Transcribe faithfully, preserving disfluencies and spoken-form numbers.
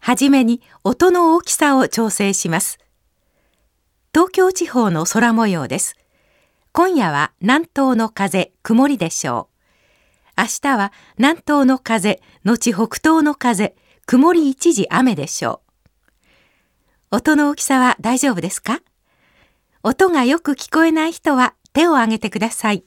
はじめに音の大きさを調整します。東京地方の空模様です。今夜は南東の風、曇りでしょう。明日は南東の風、後北東の風、曇り一時雨でしょう。音の大きさは大丈夫ですか？音がよく聞こえない人は手を挙げてください。